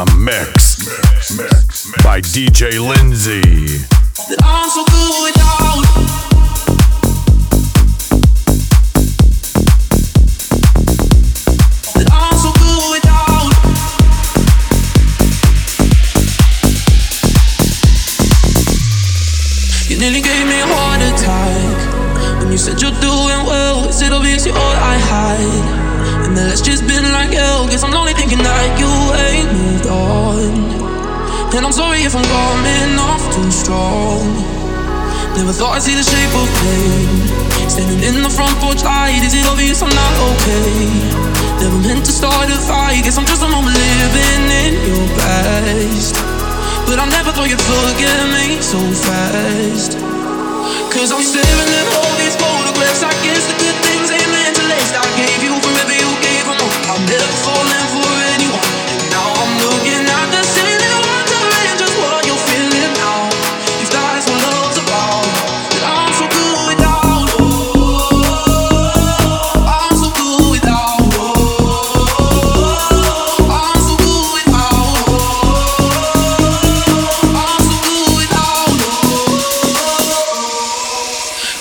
mix by DJ Lindsay. That I'm so good without. That I'm so good without. You nearly gave me a heart attack when you said you're doing well. Is it obvious you're all I hide? And then it's just been like hell. Guess I'm lonely thinking that you ain't moved on. And I'm sorry if I'm coming off too strong. Never thought I'd see the shape of pain. Standing in the front porch light. Is it obvious I'm not okay? Never meant to start a fight. Guess I'm just a moment living in your past. But I never thought you'd forget me so fast. Cause I'm staring at all these photographs. I guess the good things ain't meant to last. I gave you forever, you gave them all. I'm never falling for anyone. And now I'm looking at the ceiling. What you're feeling now, if that's what love's about. That I'm so good without. I'm so good without. I'm so good without. I'm so good without.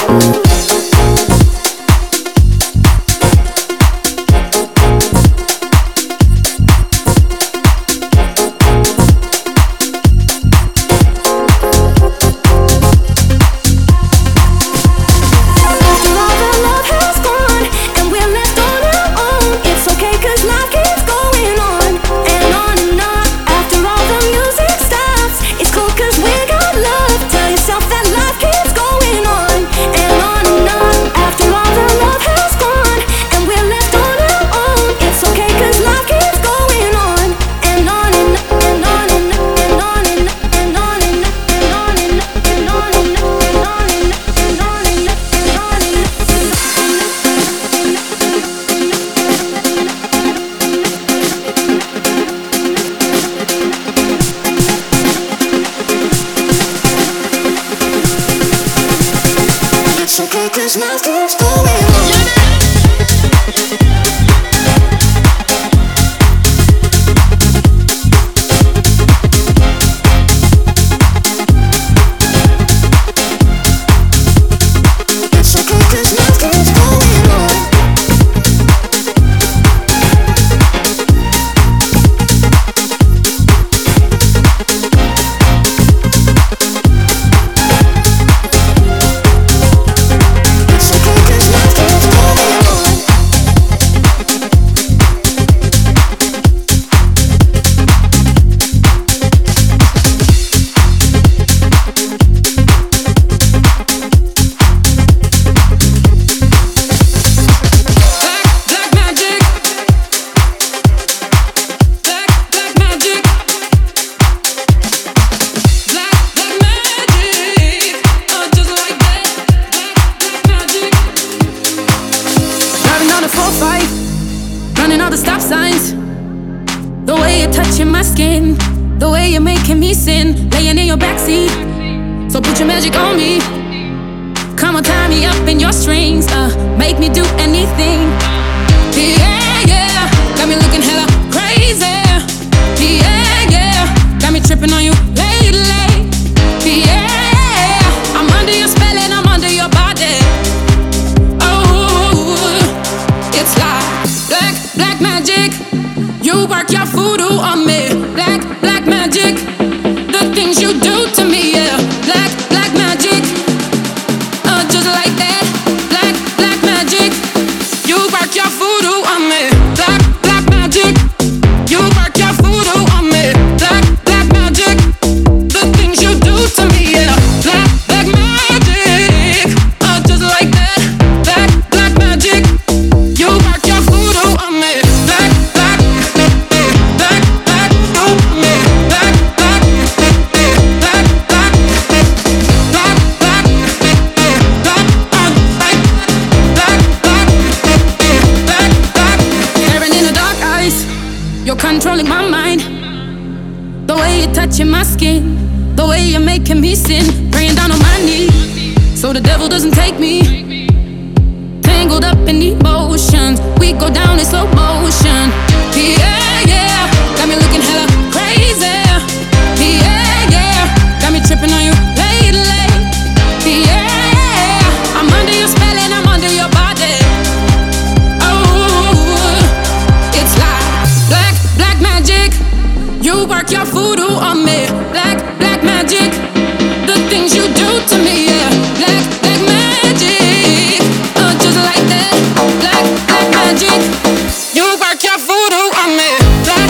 You work your voodoo on me.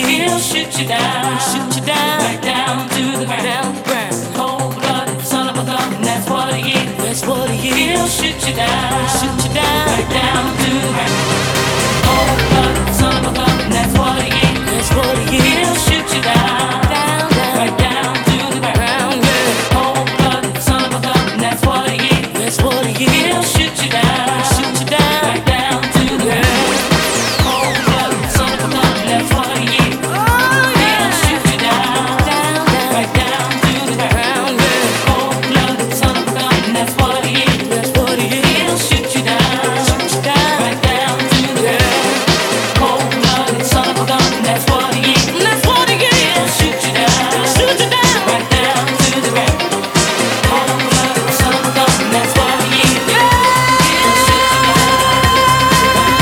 He'll shoot you down, right down to the ground. Cold-blooded son of a gun, that's what he is. He'll shoot you down, right down to the ground. Cold-blooded son of a gun, that's what he is. He'll shoot you down, right down to the ground. Cold-blooded son of a gun, that's what he is. He'll shoot you down, right down to the ground. Cold-blooded son of a gun, that's what he is. He'll shoot you down, right down to the ground. Cold-blooded son of a gun, that's what he is. He'll shoot you down, right down to the ground. Cold-blooded son of a gun, that's what he is. He'll shoot you down, right down to the ground. Cold-blooded son of a gun, that's what he is. He'll shoot you down, right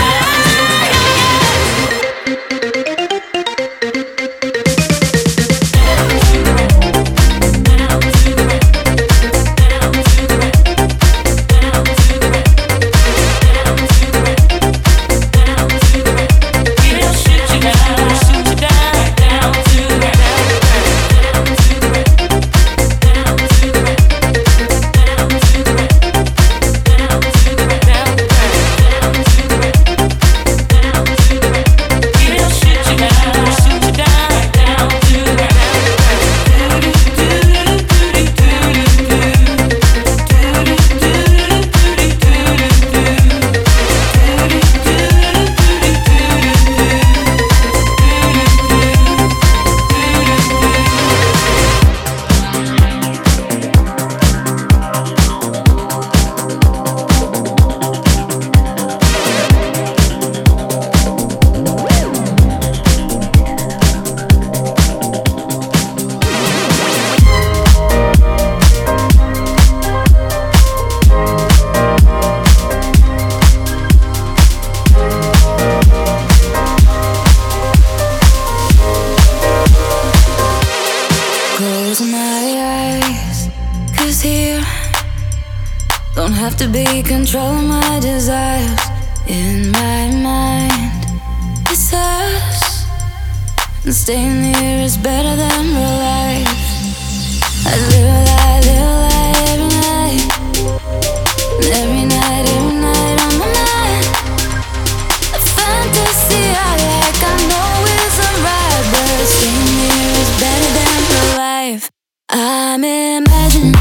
Close my eyes, 'cause here don't have to be control my desires. In my mind, it's us, and staying here is better than real life. I live a lie every night, and every night on my mind. A fantasy I like, I know isn't right, but staying here is better than real life. I'm imagining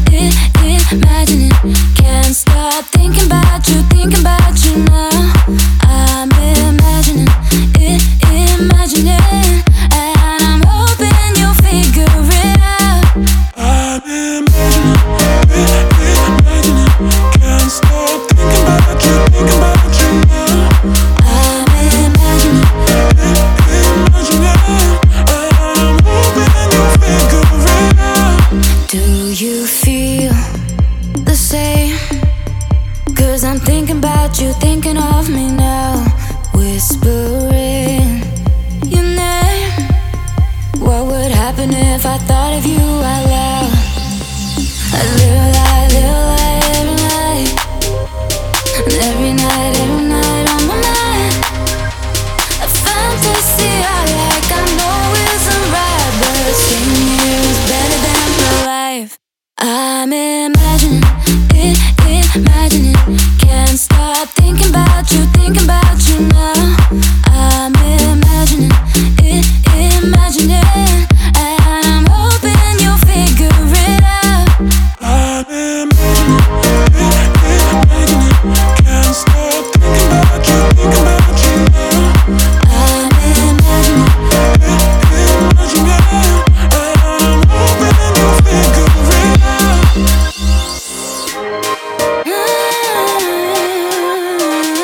it, can't stop thinking about you now. I'm imagining it, and I'm hoping you'll figure it out. I'm imagining it, can't stop thinking about you now. I'm imagining it, and I'm hoping you'll figure it out. Do you feel the same? 'Cause I'm thinking about you, thinking of me now. Whispering your name. What would happen if I thought of you out loud? I live a lie every night, and every night on my mind. A fantasy I like, I know isn't right, but staying here is better than real life. I'm imagining it, can't stop thinking about you now. I'm imagining it, and I'm hoping you'll figure it out. I'm imagining it, can't stop thinking about you now. I'm imagining and I'm hoping you'll figure it out.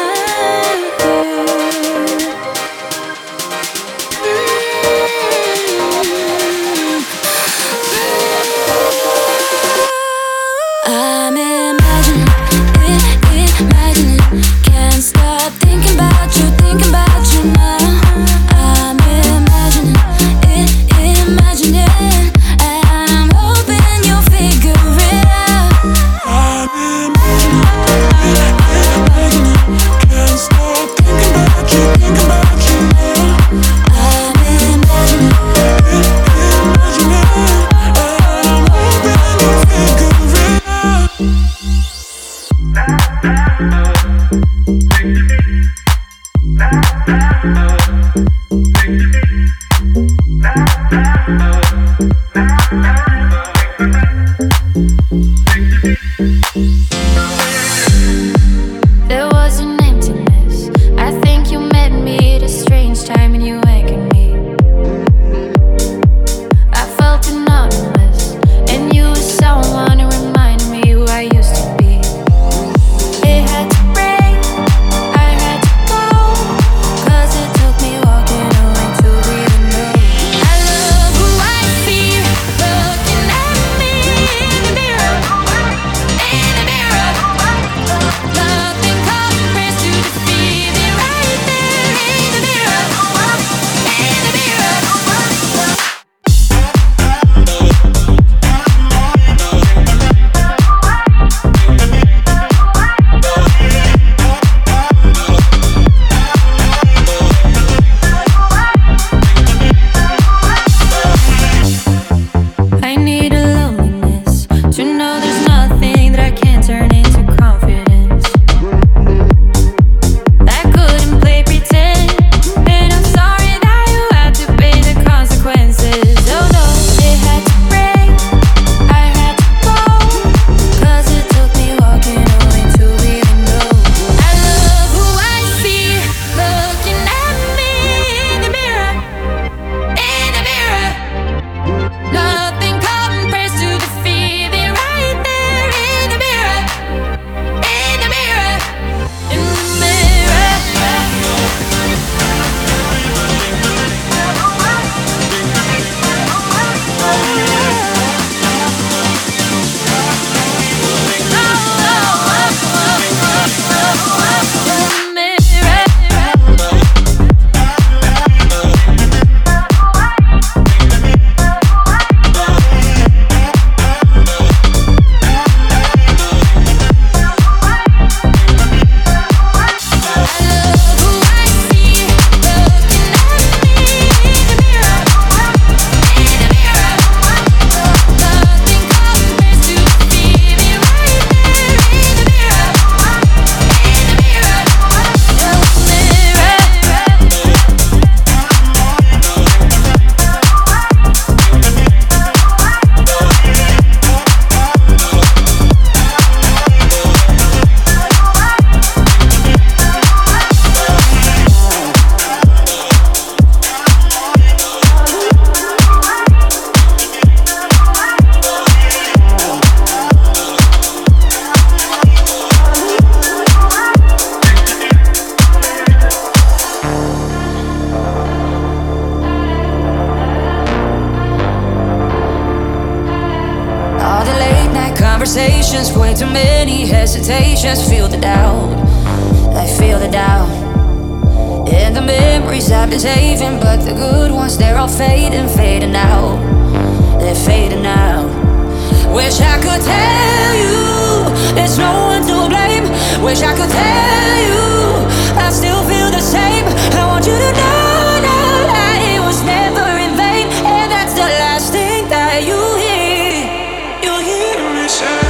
patience, way too many hesitations. Feel the doubt, I feel the doubt. And the memories I've been saving, but the good ones, they're all fading, fading out. They're fading out. Wish I could tell you there's no one to blame. Wish I could tell you I still feel the same. I want you to know that it was never in vain, and that's the last thing that you hear. You'll hear me say.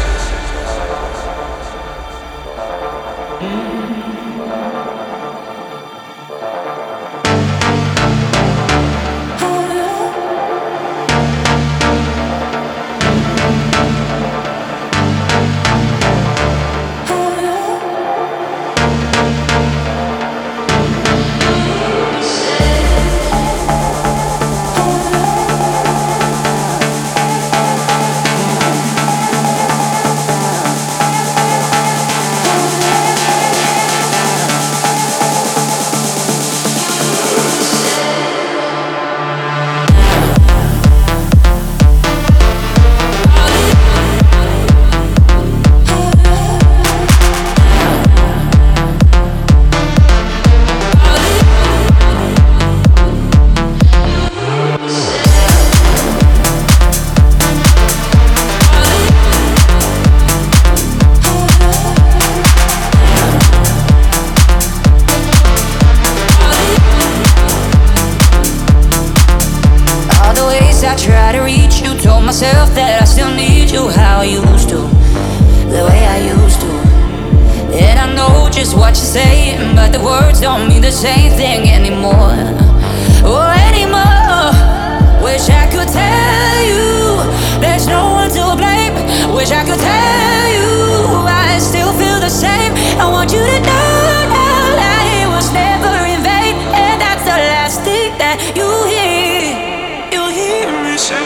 That I still need you how I used to, the way I used to. And I know just what you're saying, but the words don't mean the same thing anymore. Oh, anymore. Wish I could tell you there's no one to blame. Wish I could tell you I still feel the same. I want you to know that it was never in vain, and that's the last thing that you hear. You'll hear me say.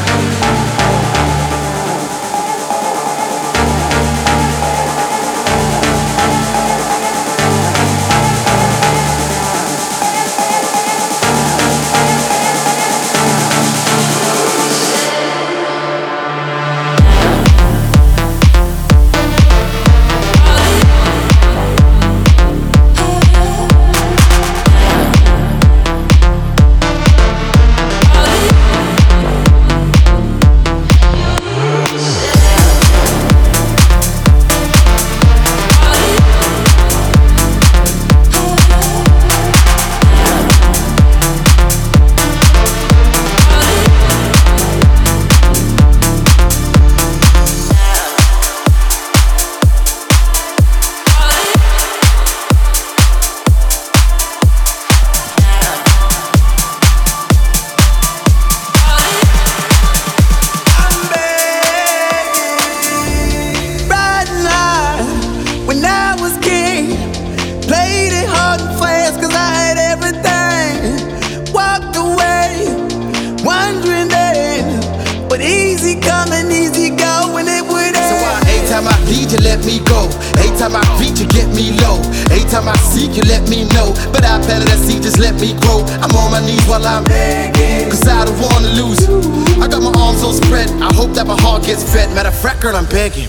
Girl, I'm begging,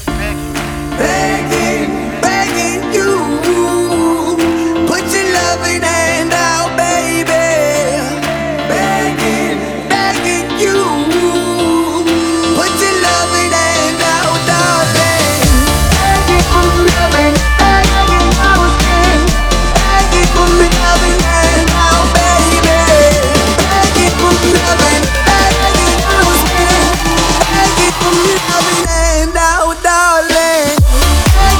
begging you. Put your loving hand out, baby. Begging you. Put your loving hand out, darling. Begging for loving, begging I was king. Begging for loving hand out, baby. Begging for loving, begging I was king. Begging for loving hand out, darling.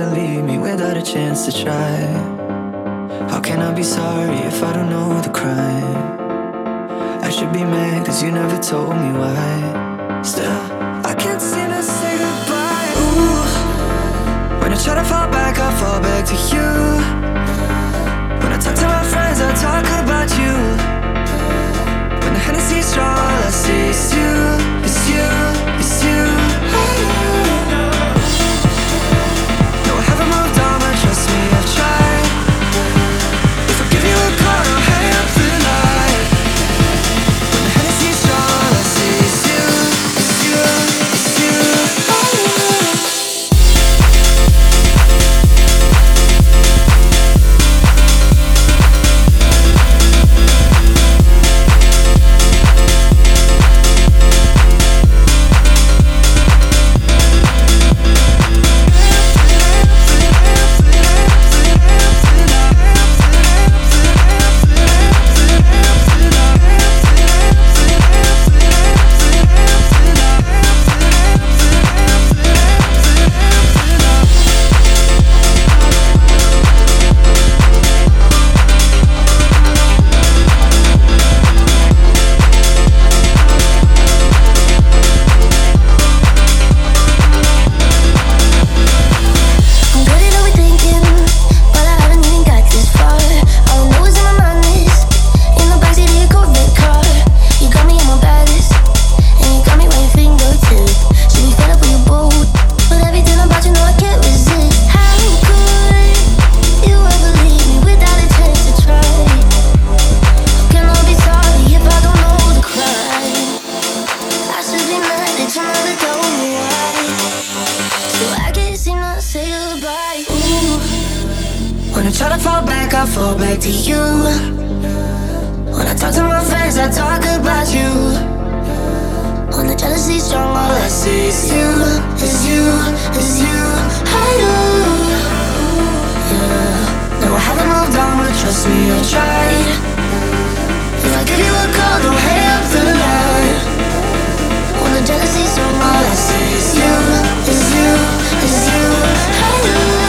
ever leave me without a chance to try? How can I be sorry if I don't know the crime? I should be mad cause you never told me why. Still, I can't seem to say goodbye. Ooh, when I try to fall back, I fall back to you. When I talk to my friends, I talk about you. When the Hennessy's strong, all I see is you. It's you, it's you. No, I haven't moved on, but trust me, I've tried. If I give you a call, I'll hang up the line. When the Hennessy's strong, all I see is you. It's you, it's you. When I try to fall back, I fall back to you. When I talk to my friends, I talk about you. When the jealousy's strong, all I see is you, is you, is you. I do, yeah. No, I haven't moved on, but trust me, I tried. If I give you a call, don't hang up the line. When the jealousy's strong, all I see is you, is you, is you. I do.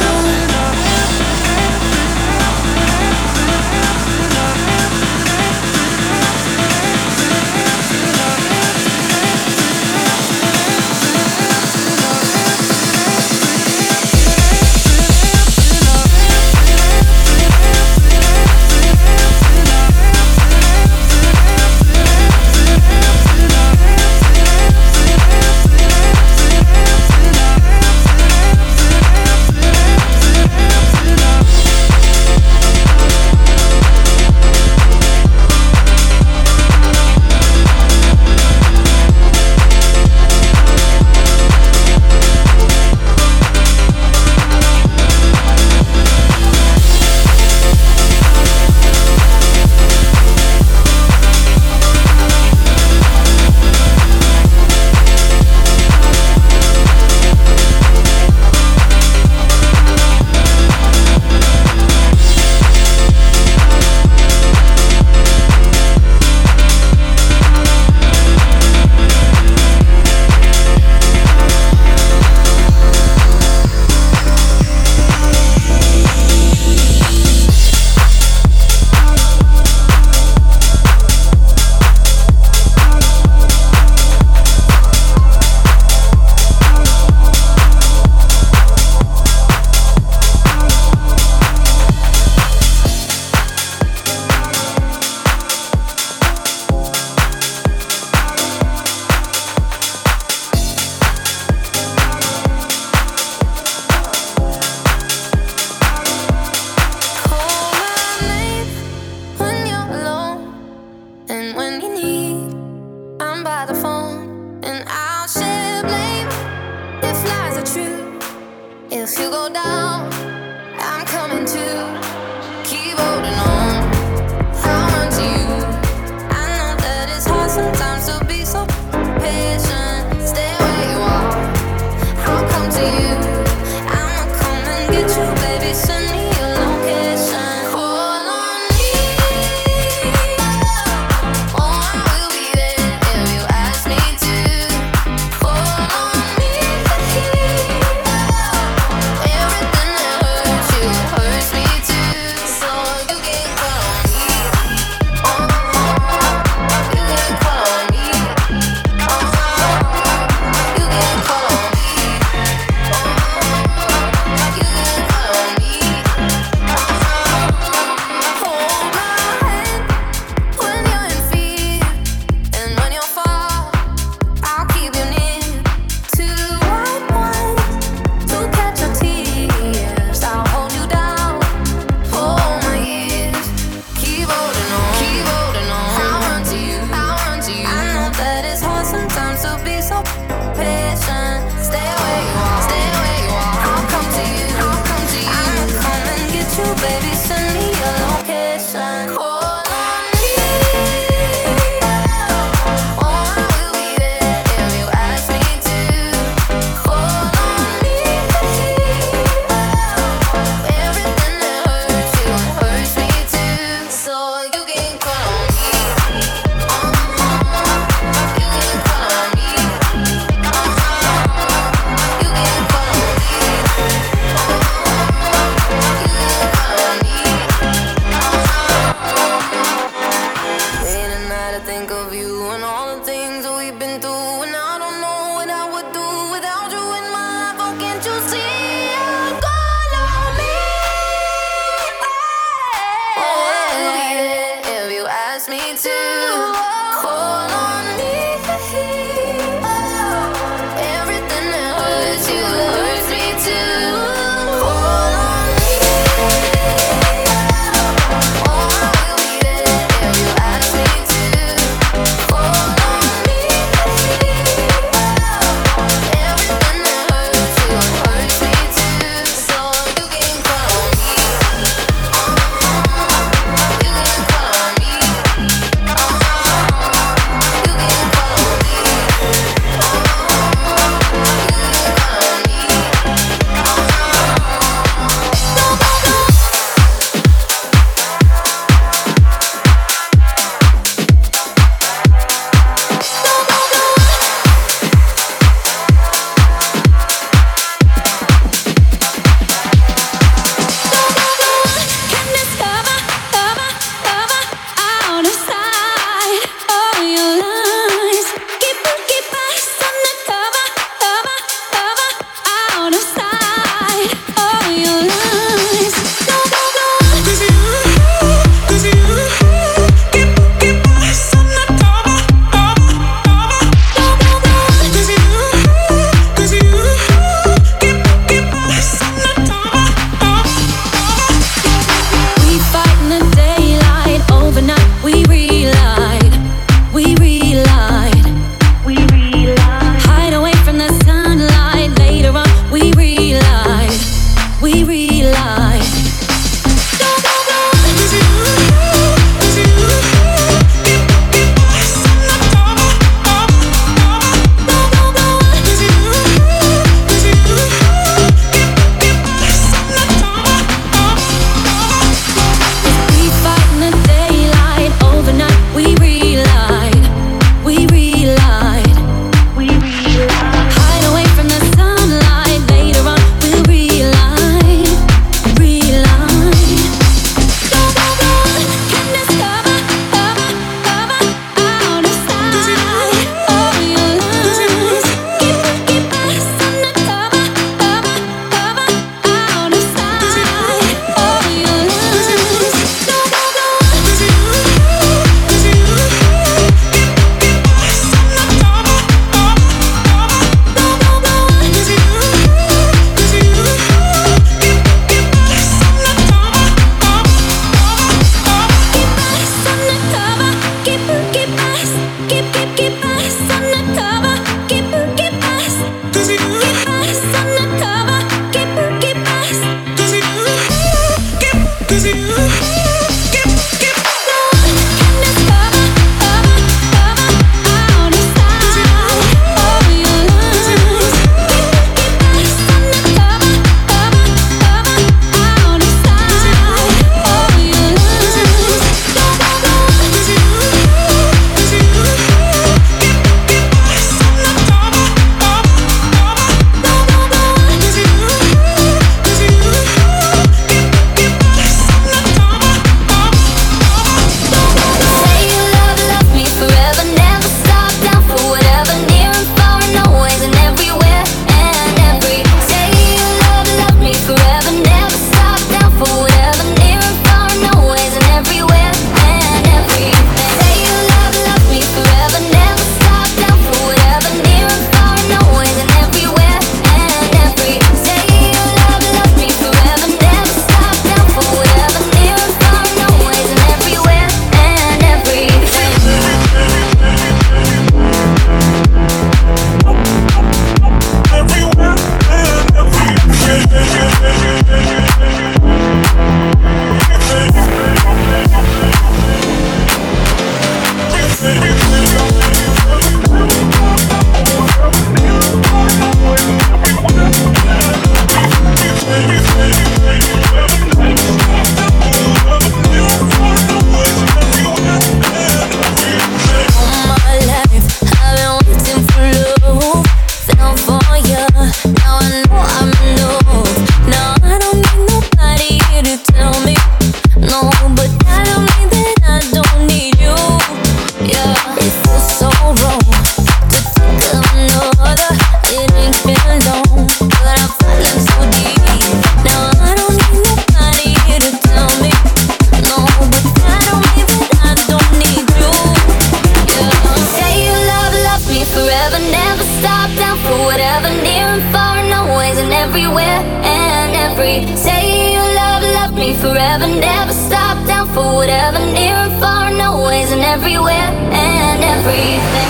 for whatever, near and far, and always and everywhere and every. Say you love me forever, never stop, down for whatever, near and far, and always and everywhere and everything.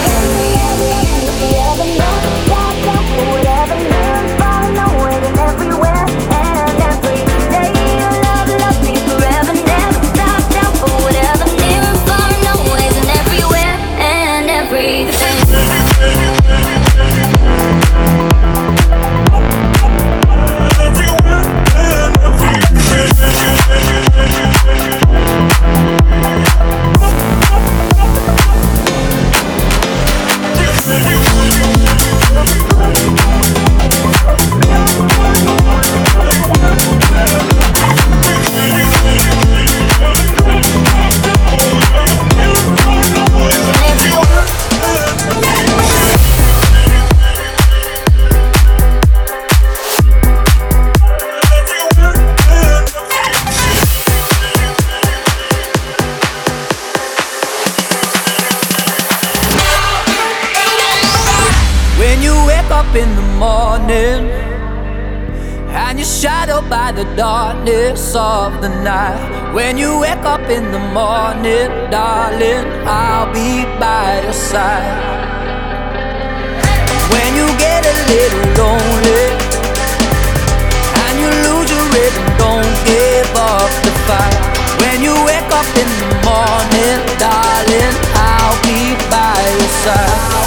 In the morning, and you're shadowed by the darkness of the night. When you wake up in the morning, darling, I'll be by your side. When you get a little lonely and you lose your rhythm, don't give up the fight. When you wake up in the morning, darling, I'll be by your side.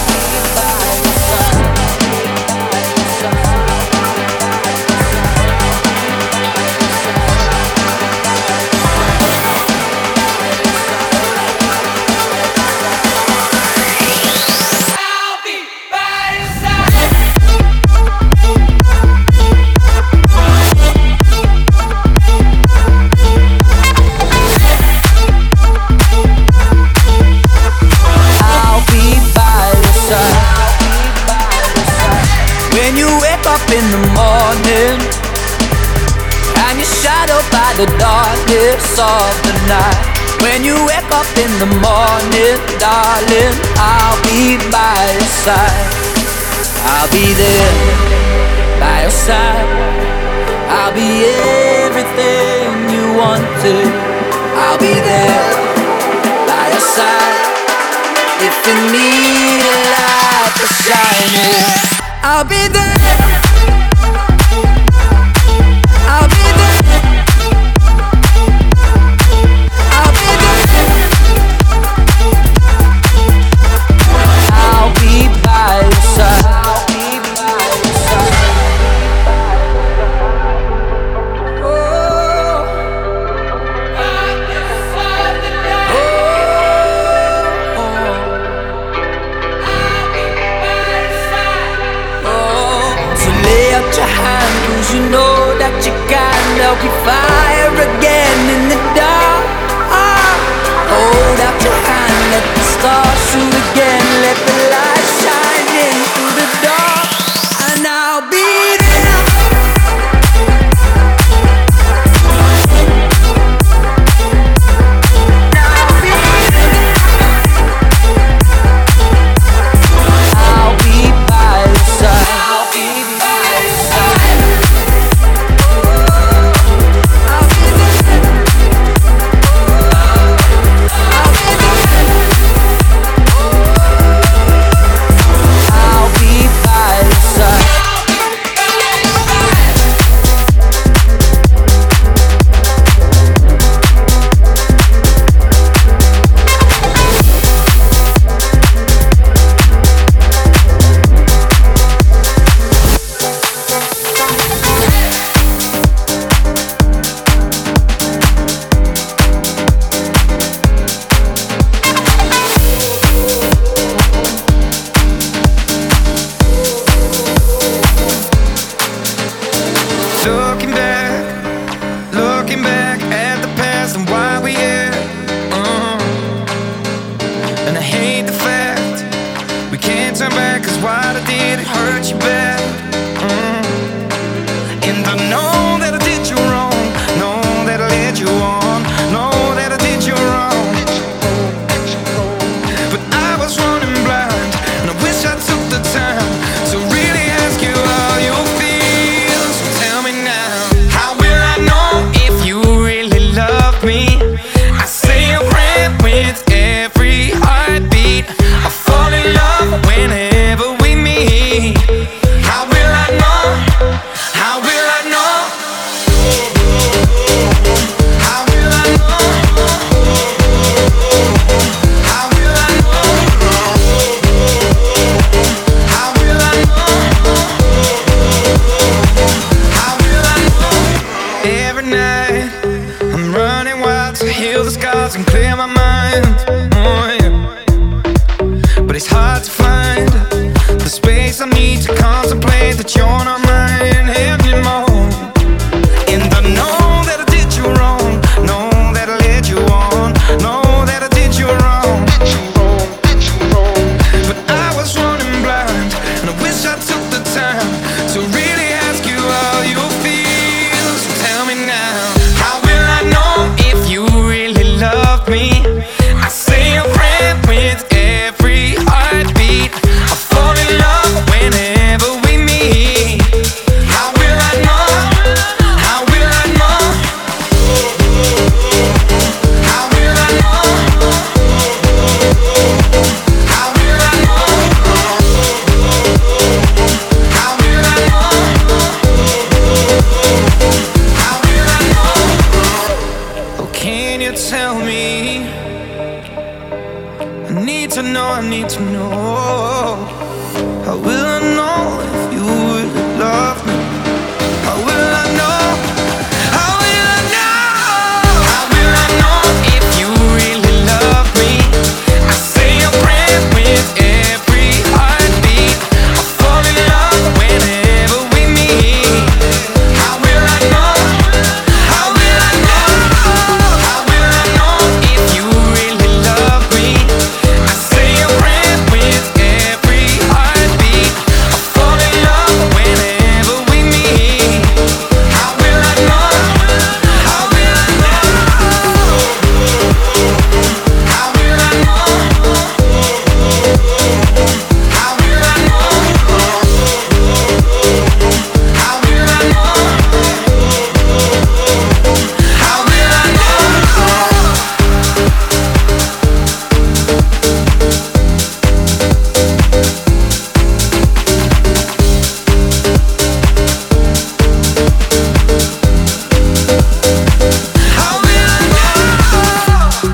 In the morning, and you're shadowed by the darkness of the night. When you wake up in the morning, darling, I'll be by your side. I'll be there by your side. I'll be everything you wanted. I'll be there by your side. If you need a light to shine in, I'll be there. I'll be there. I'll be there. I'll be by your side. I'll be by your side. Oh, by your side tonight. Oh, I'll be by your side. Oh, so lay out your hand, 'cause you know that you can't help me fire again in the dark. Hold out your hand, let the stars shoot again, let the light shine in through the dark, and I'll be there. I'll be by your side. I'll be by your side. I'll be there. I'll be there. you're not mine anymore. And I know that I did you wrong, know that I led you on, know that I did you wrong. But I was running blind, and I wish I took the time to really ask you how you feel. So tell me now, how will I know if you really love me? I say a prayer with every heartbeat. I fall in love whenever we meet. How will I know? How will I know? How will I know? How will I know? How will I know? How will I know? Oh, can you tell me? I need to know, I need to know. How will I know if you really love me? How will I know? How will I know? How will I know if you really love me? I say a prayer with every heartbeat. I fall in love whenever we meet. How will I know? How will I know? How will I know if you really love me? I say a prayer with every heartbeat. I fall in love whenever we meet. How will I know? How will I know? How will I know? How will I know? How will I know? How will I How will I know?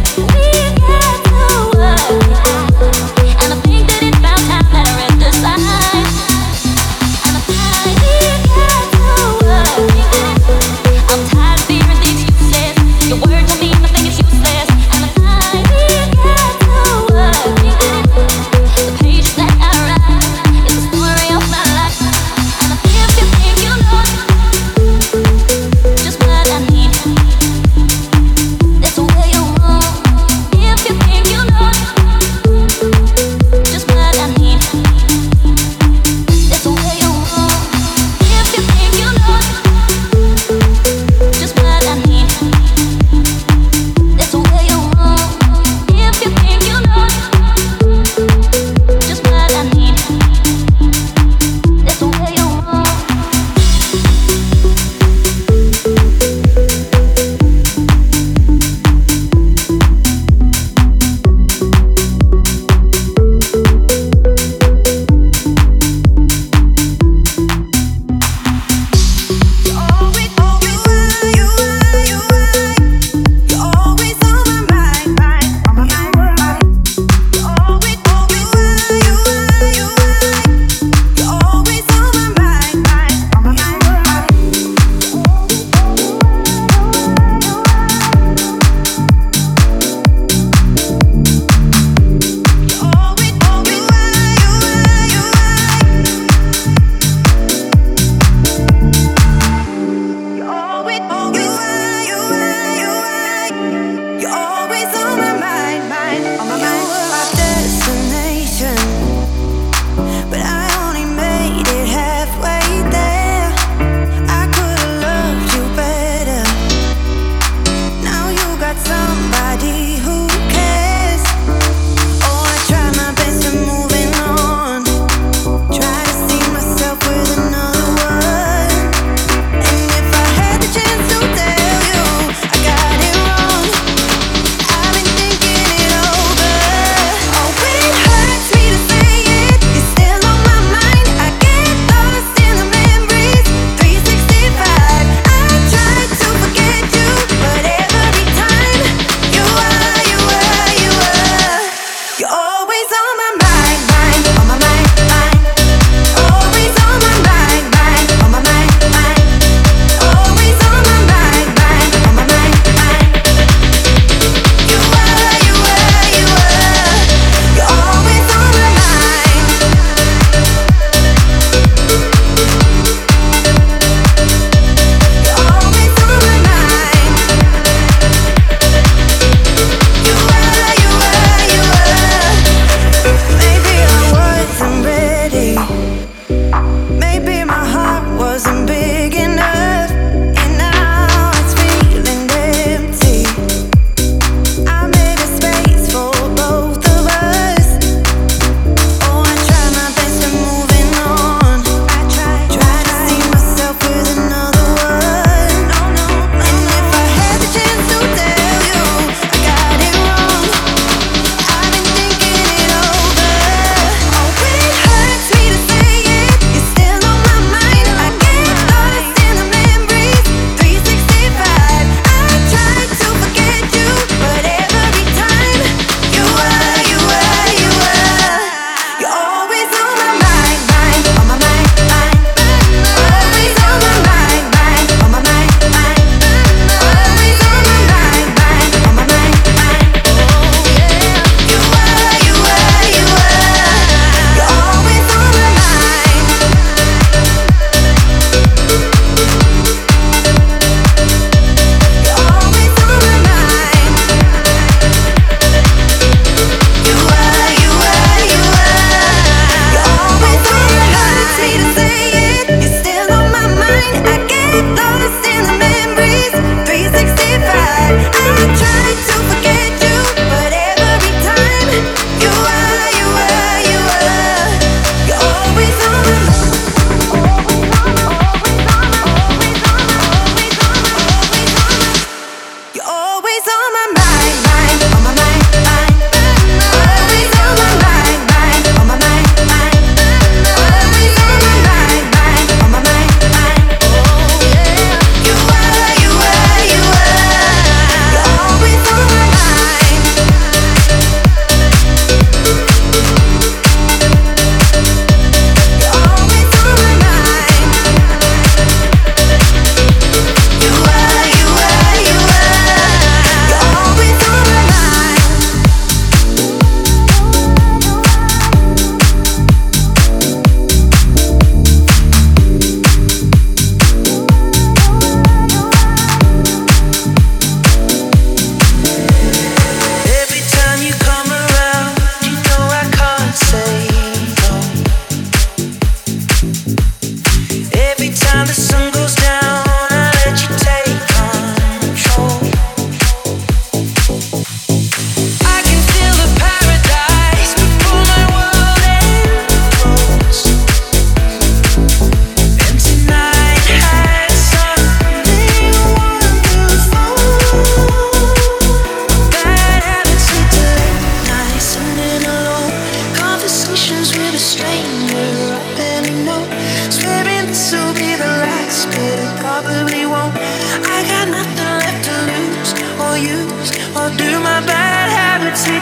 And I think that it's about time that I read the signs.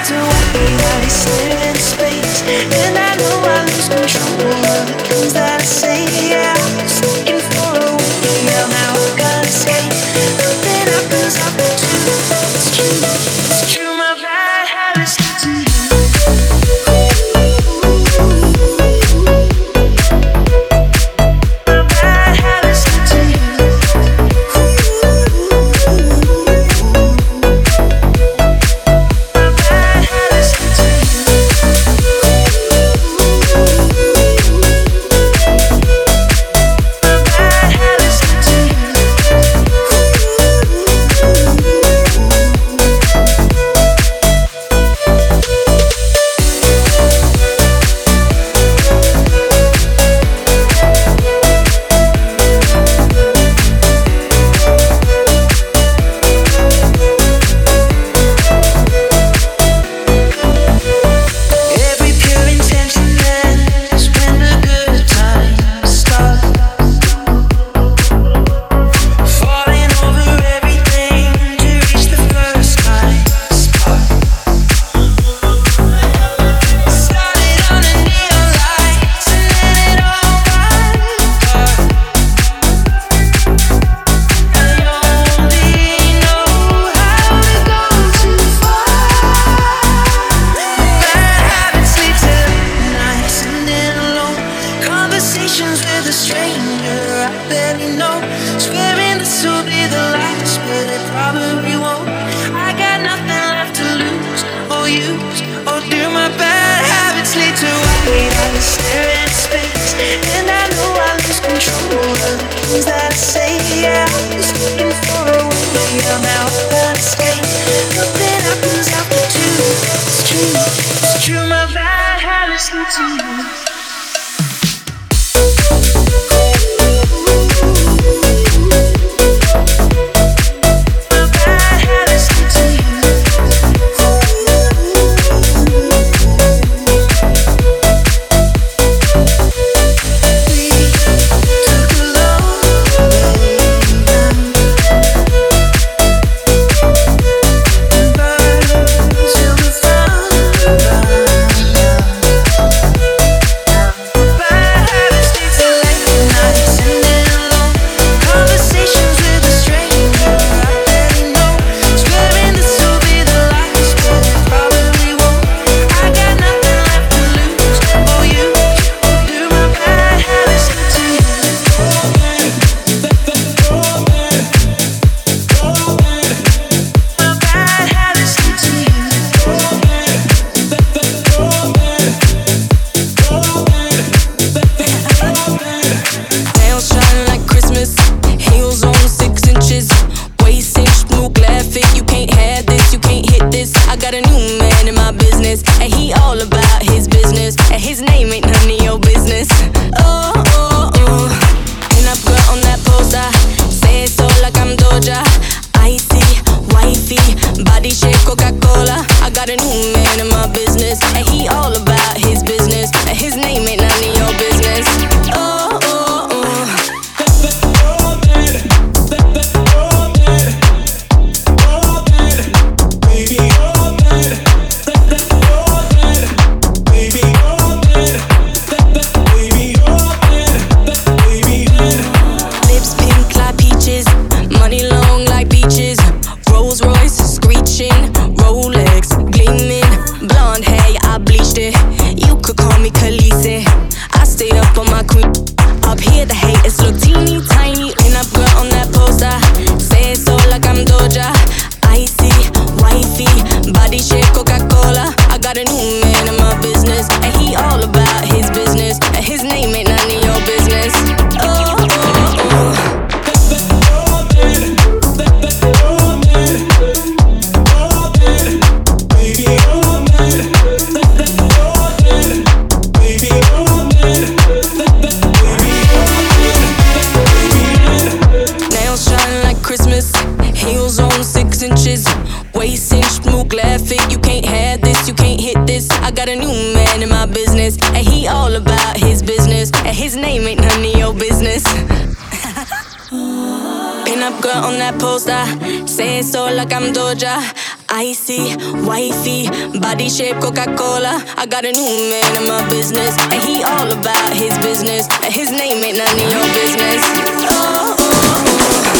to wait. I be staring in space, and I know I lose control of the things that I say. Yeah, I'm just looking for a way. Now I gotta escape. Nothing happens after two. It's true, it's true. My bad habits lead to you. Pin up girl on that poster, say it so like I'm Doja. Icy, wifey, body shape Coca-Cola. I got a new man in my business, and he all about his business. And his name ain't none of your business. Oh, oh, oh.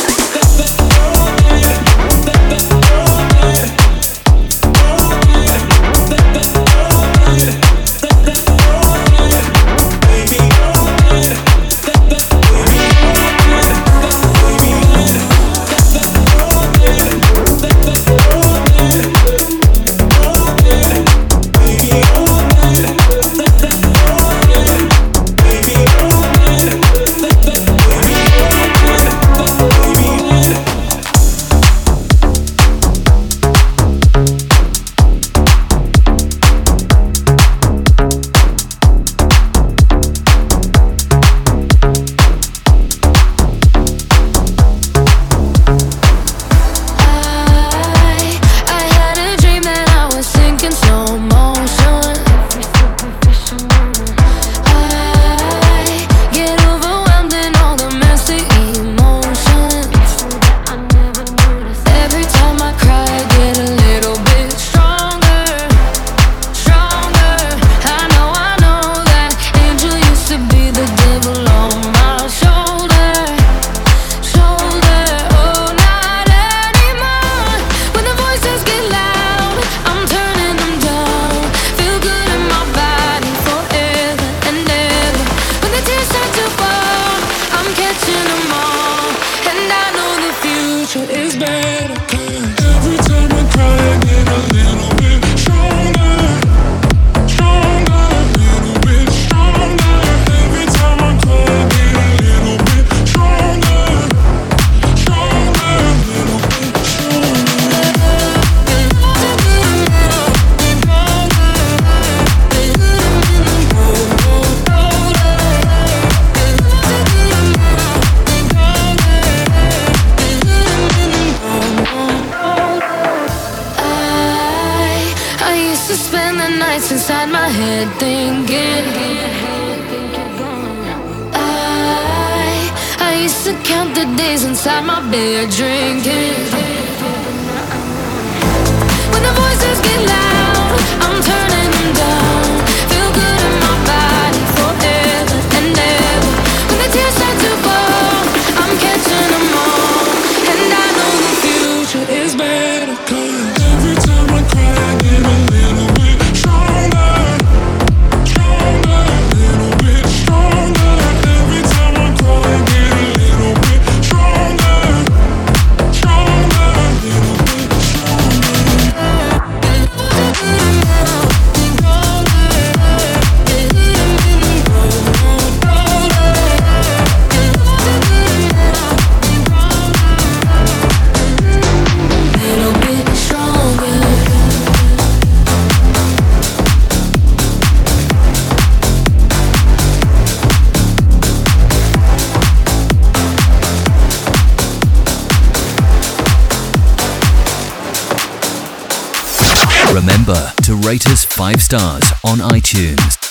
Inside my head thinking I used to count the days inside my bed drinking. When the voices get loud, I'm turning them down. Feel good in my body forever and ever. When the tears start to fall, I'm catching them all. And I know the future is better, 'cause every time I cry I get a little bit stronger. Remember to rate us 5 stars on iTunes.